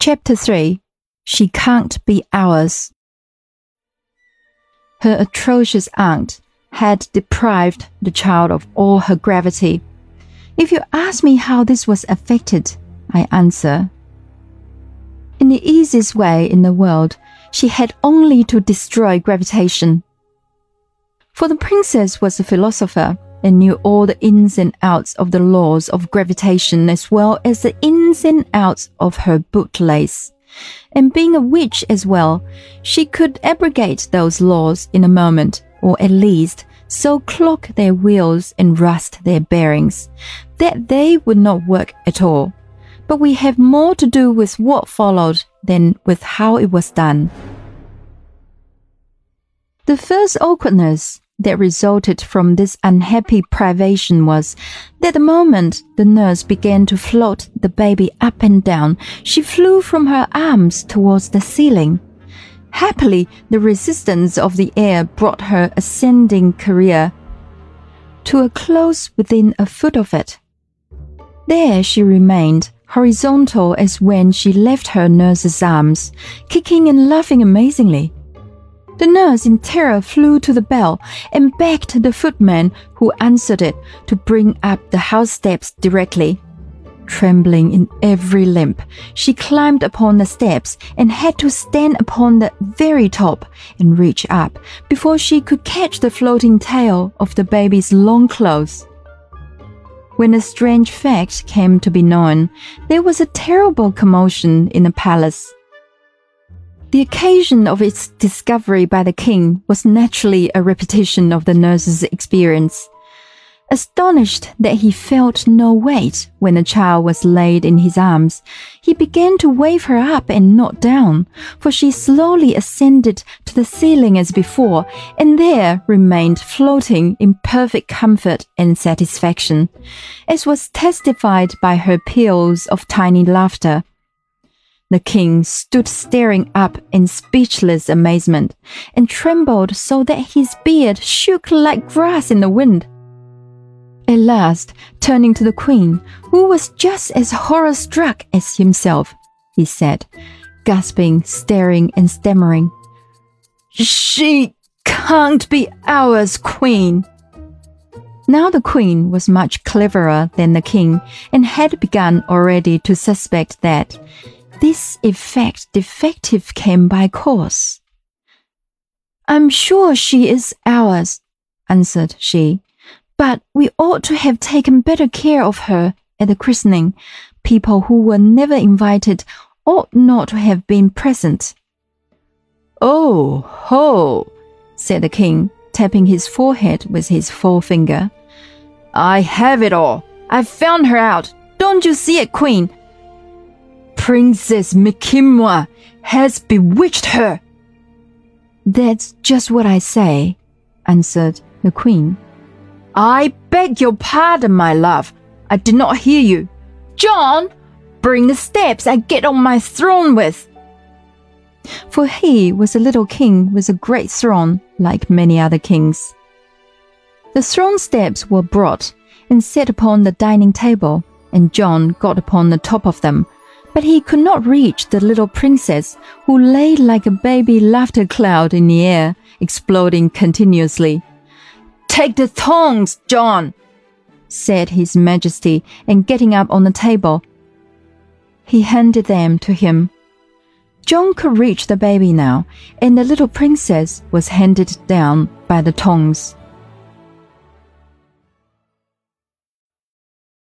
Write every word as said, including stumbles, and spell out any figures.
Chapter three. She Can't Be Ours. Her atrocious aunt had deprived the child of all her gravity. If you ask me how this was effected, I answer, in the easiest way in the world, she had only to destroy gravitation. For the princess was a philosopher and knew all the ins and outs of the laws of gravitation as well as the ins and outs of her bootlace. And being a witch as well, she could abrogate those laws in a moment, or at least so clog their wheels and rust their bearings, that they would not work at all. But we have more to do with what followed than with how it was done. The first awkwardness that resulted from this unhappy privation was that the moment the nurse began to float the baby up and down, she flew from her arms towards the ceiling. Happily, the resistance of the air brought her ascending career to a close within a foot of it. There she remained, horizontal as when she left her nurse's arms, kicking and laughing amazingly. The nurse in terror flew to the bell and begged the footman who answered it to bring up the house steps directly. Trembling in every limb, she climbed upon the steps and had to stand upon the very top and reach up before she could catch the floating tail of the baby's long clothes. When a strange fact came to be known, there was a terrible commotion in the palace. The occasion of its discovery by the king was naturally a repetition of the nurse's experience. Astonished that he felt no weight when the child was laid in his arms, he began to wave her up and not down, for she slowly ascended to the ceiling as before, and there remained floating in perfect comfort and satisfaction, as was testified by her peals of tiny laughter. The king stood staring up in speechless amazement, and trembled so that his beard shook like grass in the wind. At last, turning to the queen, who was just as horror-struck as himself, he said, gasping, staring, and stammering, "She can't be ours, queen." Now the queen was much cleverer than the king, and had begun already to suspect that this effect defective came by course. "I'm sure she is ours," answered she, "but we ought to have taken better care of her at the christening. People who were never invited ought not to have been present." "Oh, ho," said the king, tapping his forehead with his forefinger. "I have it all. I've found her out. Don't you see it, queen? Princess Mikimwa has bewitched her." "That's just what I say," answered the queen. "I beg your pardon, my love. I did not hear you. John, bring the steps I get on my throne with." For he was a little king with a great throne, like many other kings. The throne steps were brought and set upon the dining table, and John got upon the top of them, but he could not reach the little princess, who lay like a baby laughter cloud in the air, exploding continuously. "Take the tongs, John," said His Majesty, and getting up on the table, he handed them to him. John could reach the baby now, and the little princess was handed down by the tongs.